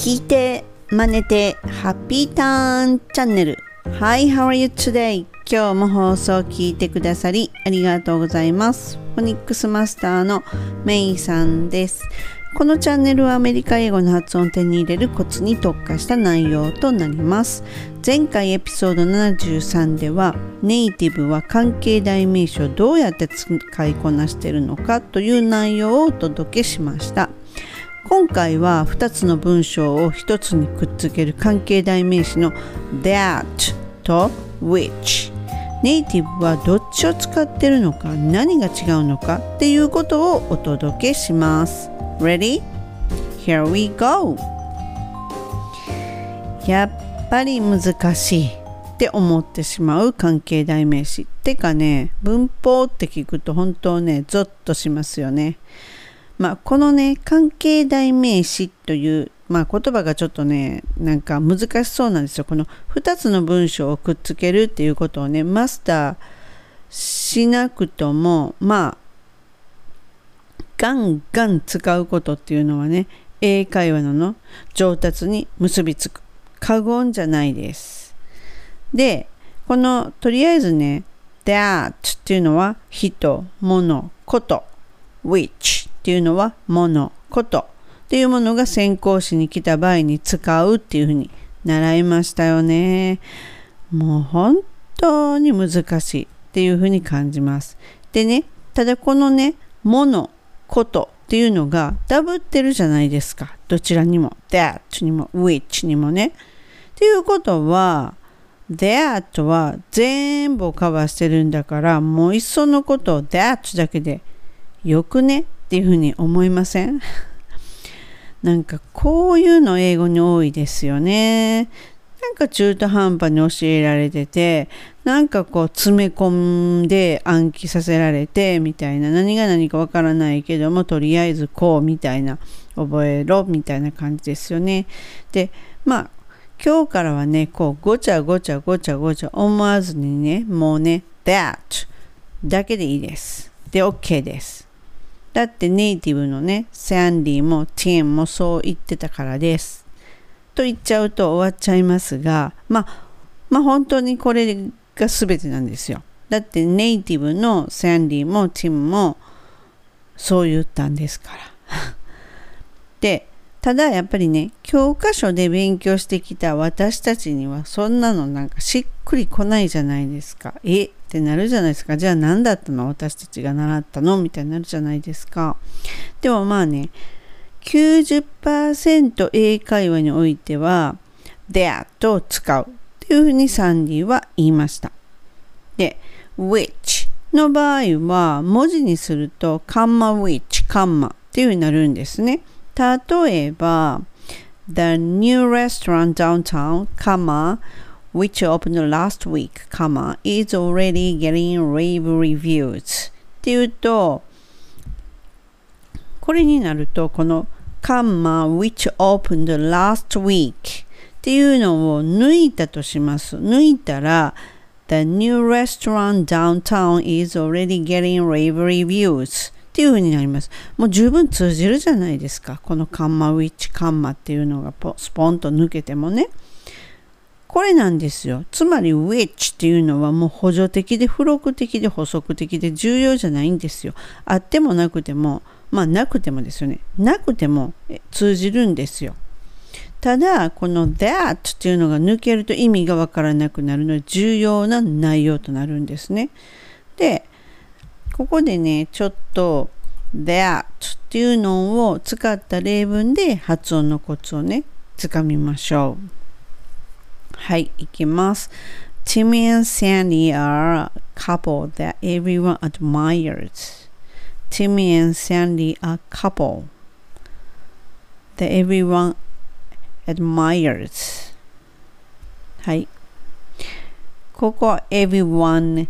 聞いて真似てハッピーターンチャンネル。 Hi, how are you today? 今日も放送を聞いてくださりありがとうございます。フォニックスマスターのメイさんです。このチャンネルはアメリカ英語の発音を手に入れるコツに特化した内容となります。前回エピソード73ではネイティブは関係代名詞をどうやって使いこなしているのかという内容をお届けしました。今回は2つの文章を1つにくっつける関係代名詞の that と which。ネイティブはどっちを使っているのか、何が違うのかっていうことをお届けします。Ready? Here we go! やっぱり難しいって思ってしまう関係代名詞。てかね、文法って聞くと本当ね、ゾッとしますよね。このね、関係代名詞という、言葉がちょっとね、なんか難しそうなんですよ。この2つの文章をくっつけるっていうことをね、マスターしなくとも、ガンガン使うことっていうのはね、英会話の上達に結びつく。過言じゃないです。で、とりあえずね、that っていうのは人、物、こと、which っていうのは物、ことっていうものが先行詞に来た場合に使うっていうふうに習いましたよね。もう本当に難しいっていうふうに感じます。でね、ただこのね、物、ことっていうのがダブってるじゃないですか。どちらにも that にも which にもね。っていうことは that は全部をカバーしてるんだから、もういっそのことを that だけでよくねっていうふうに思いません？なんかこういうの英語に多いですよね。なんか中途半端に教えられてて、なんかこう詰め込んで暗記させられてみたいな、何が何かわからないけどもとりあえずこうみたいな、覚えろみたいな感じですよね。で、今日からはね、こうごちゃごちゃ思わずにね、もうね that だけでいいです。で OK です。だってネイティブのね、サンディもティンもそう言ってたからです。と言っちゃうと終わっちゃいますが、本当にこれが全てなんですよ。だってネイティブのサンディもティンもそう言ったんですから。で、ただやっぱりね、教科書で勉強してきた私たちにはそんなのなんかしっくりこないじゃないですか。ってなるじゃないですか。じゃあ何だったの？私たちが習ったの？みたいになるじゃないですか。でも90% 英会話においては that を使うっていうふうにサンディは言いました。で、which の場合は文字にするとカンマ which カンマっていうふうになるんですね。例えば The new restaurant downtown, which opened last week, is already getting rave reviews っていうと、これになるとこのwhich opened last week っていうのを抜いたとします。抜いたら The new restaurant downtown is already getting rave reviews っていう風になります。もう十分通じるじゃないですか。このwhich っていうのがスポンと抜けてもね。これなんですよ。つまり which っていうのはもう補助的で付録的で補足的で重要じゃないんですよ。あってもなくても、なくてもですよね。なくても通じるんですよ。ただこの that っていうのが抜けると意味がわからなくなるので重要な内容となるんですね。で、ここでね、ちょっと that っていうのを使った例文で発音のコツをね、つかみましょう。はい、いきます。Timmy and Sandy are a couple that everyone admires. Timmy and Sandy are a couple that everyone admires. はい。ここは everyone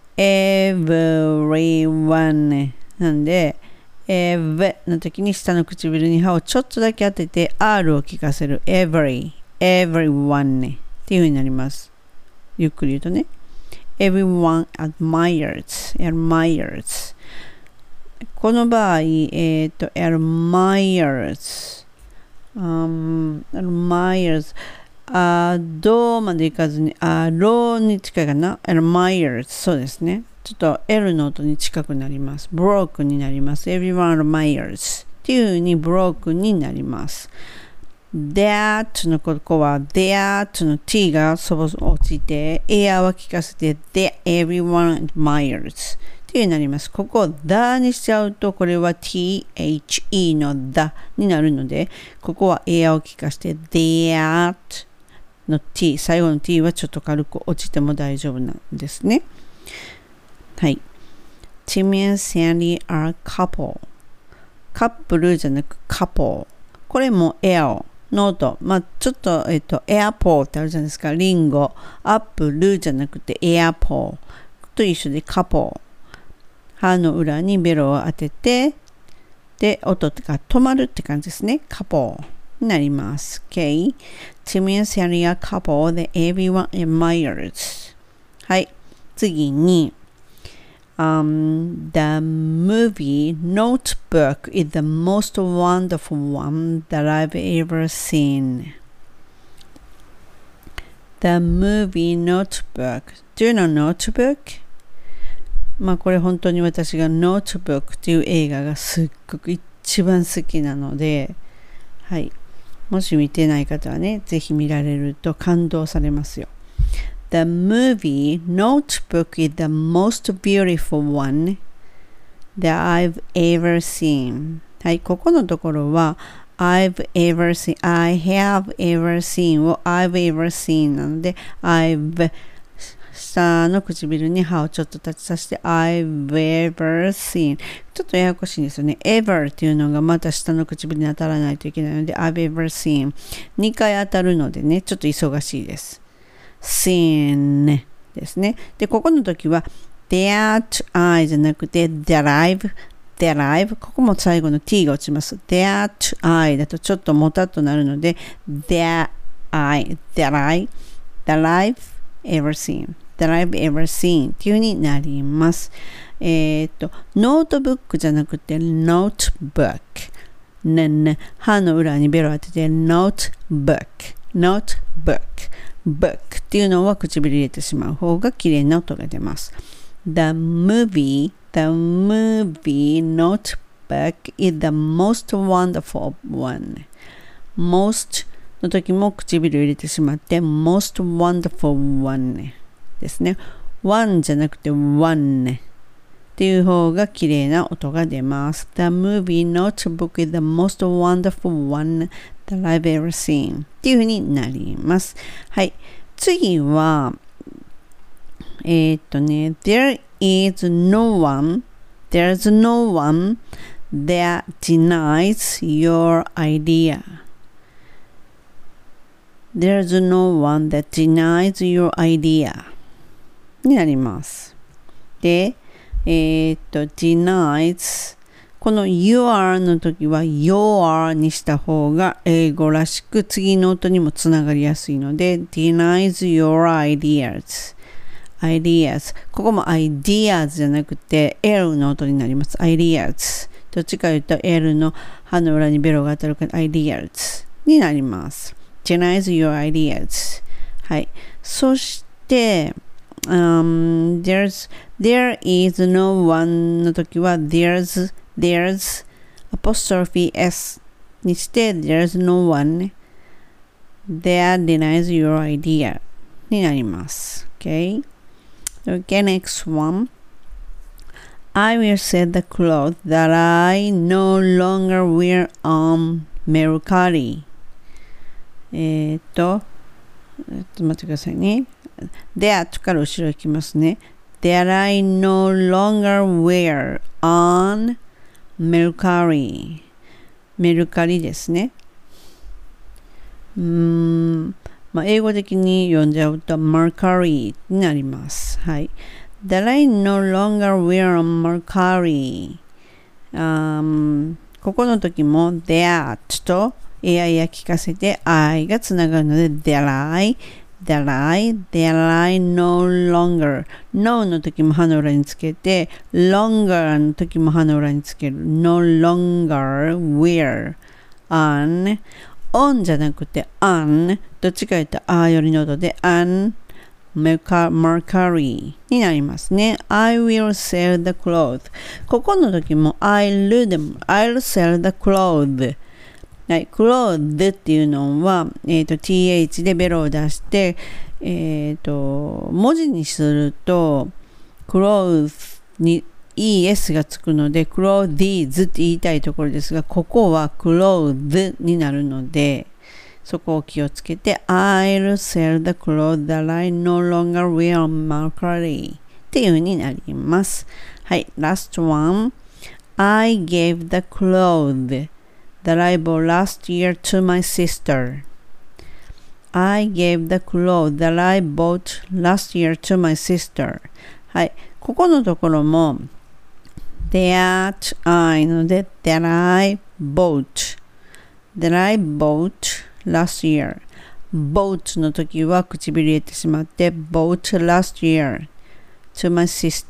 なんで ev の時に下の唇に歯をちょっとだけ当てて R を聞かせる everyone っていう風になります。ゆっくり言うとね everyone admires この場合admires admires どうまでいかずにロに近いかな。admires そうですね。ちょっと L の音に近くなります。broke になります。everyone admires っていう風に broke になります。that のここは that の t が落ちて air は聞かせて that everyone admires っていうになります。ここを the にしちゃうとこれは the の the になるのでここは air を聞かせて that の t 最後の t はちょっと軽く落ちても大丈夫なんですね。はい。Timmy and Sandy are couple カップルじゃなく couple これも airノート、ちょっと、エアポーってあるじゃないですか。リンゴ、アップルじゃなくてエアポーと一緒でカポー。歯の裏にベロを当てて、で、音が止まるって感じですね。カポーになります。Okay? Timmy and Sandy are couple that everyone admires. はい。次に、the movie Notebook is the most wonderful one that I've ever seen. The movie Notebook. Do you know Notebook? これ本当に私が Notebook っていう映画がすっごく一番好きなので、はい。もし見てない方はね、ぜひ見られると感動されますよ。The movie Notebook is the most beautiful one that I've ever seen. はい、ここのところは I've ever seen, I have ever seen を I've ever seen なので I've 下の唇に歯をちょっと立ちさせて I've ever seen ちょっとややこしいんですよね。ever っていうのがまた下の唇に当たらないといけないので I've ever seen 2回当たるのでね、ちょっと忙しいです。seen ですね。で、ここの時は that I じゃなくて that I've ここも最後の t が落ちます。that I だとちょっともたっとなるので that I've ever seen っていう風になります。ノートブックじゃなくて notebook 歯の裏にベロ当てて notebook book っていうのは唇入れてしまう方が綺麗な音が出ます。The movie Notebook is the most wonderful one. Most の時も唇入れてしまって most wonderful one ですね。one じゃなくて one っていう方が綺麗な音が出ます。The movie Notebook is the most wonderful one that I've ever seen っていう風になります。はい。次は、There's no one that denies your idea. There's no one that denies your idea になります。で、denies この your の時は your にした方が英語らしく次の音にもつながりやすいので denies your ideas ここも ideas じゃなくて L の音になります。 ideas どっちか言うと L の歯の裏にベロが当たるから ideas になります。 denies your ideas はい。そしてthere is no one の時は there's apostrophe s にして there's no one that denies your idea になります。 Okay? Okay, next one. I will set the clothes that I no longer wear on Mercari. 待ってくださいね。that から後ろ行きますね。that I no longer wear on Mercari メルカリですね。英語的に読んじゃうと Mercari になります。はい。that I no longer wear on Mercari ここの時も that と AI や聞かせて I がつながるので that I no longer no の時も歯の裏につけて longer の時も歯の裏につける no longer wear on on じゃなくて on、どっちか言ったらあよりの音で on Mercury になりますね。I will sell the clothes。ここの時も I'll sell the clothes。はい、clothes っていうのは、th でベロを出して、文字にすると clothes にes がつくので clothes って言いたいところですが、ここは clothes になるので、そこを気をつけて I'll sell the clothes that I no longer wear on Mercury っていう風になります。はい、last one. I gave the clothes that I bought last year to my sister. I gave the clothes that I bought last year to my sister. はい、ここのところも that I ので that I bought last year bought の時は唇入れてしまって bought last year to my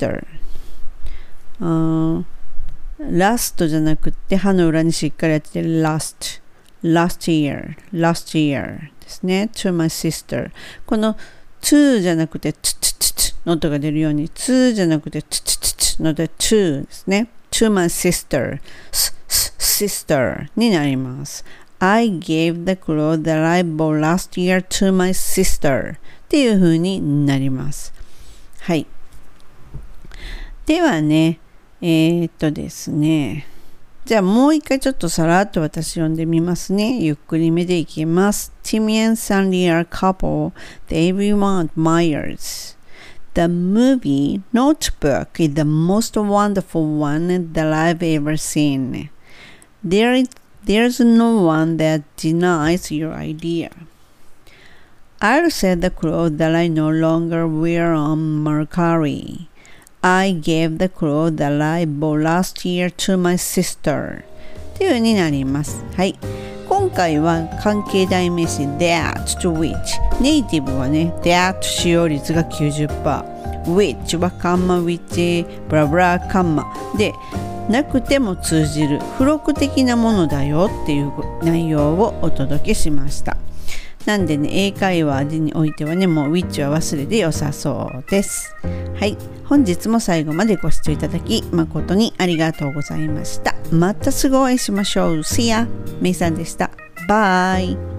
sister、last じゃなくて歯の裏にしっかりやって last year ですね。 to my sister、 この to じゃなくて t の音が出るように to じゃなくて t ので to ですね。 to my sister sister になります。I gave the clothes that I bought last year to my sister っていう風になります。はい。ではね、ですね。じゃあもう一回ちょっとさらっと私読んでみますね。ゆっくりめでいきます。Timmy and Sandy are a couple that everyone admires. The movie Notebook is the most wonderful one that I've ever seen. There's no one that denies your idea. I'll sell the clothes that I no longer wear on Mercury. I gave the clothes that I bought last year to my sister. という風になります。はい。今回は関係代名詞 that to which。ネイティブはね、that 使用率が 90%。which はカンマ which ブラブラカンマでなくても通じる付録的なものだよっていう内容をお届けしました。なんでね、英会話においてはね、もう which は忘れて良さそうです。はい、本日も最後までご視聴いただき誠にありがとうございました。またすぐお会いしましょう。See ya! めいさんでした。バイ。